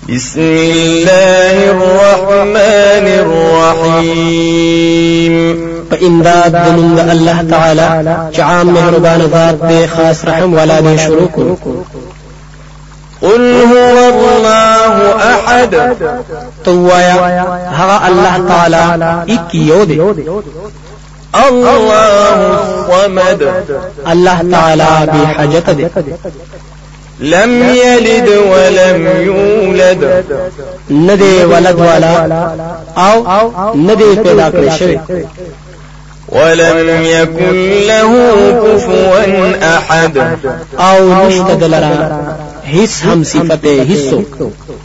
بسم الله الرحمن الرحيم فإمداد من الله تعالى جعام مهربان ذات دي خاص رحم ولا دي شروك. قل هو الله أحد توايا هغا الله تعالى إكيودي الله الصمد الله تعالى بحاجة دي لم يلد ولم يولد ندي ولد ولا أو ندي پیدا کړی شوی ولم يكن له كفوا أحد او نشته دلرا هیڅ هم صفته هیڅ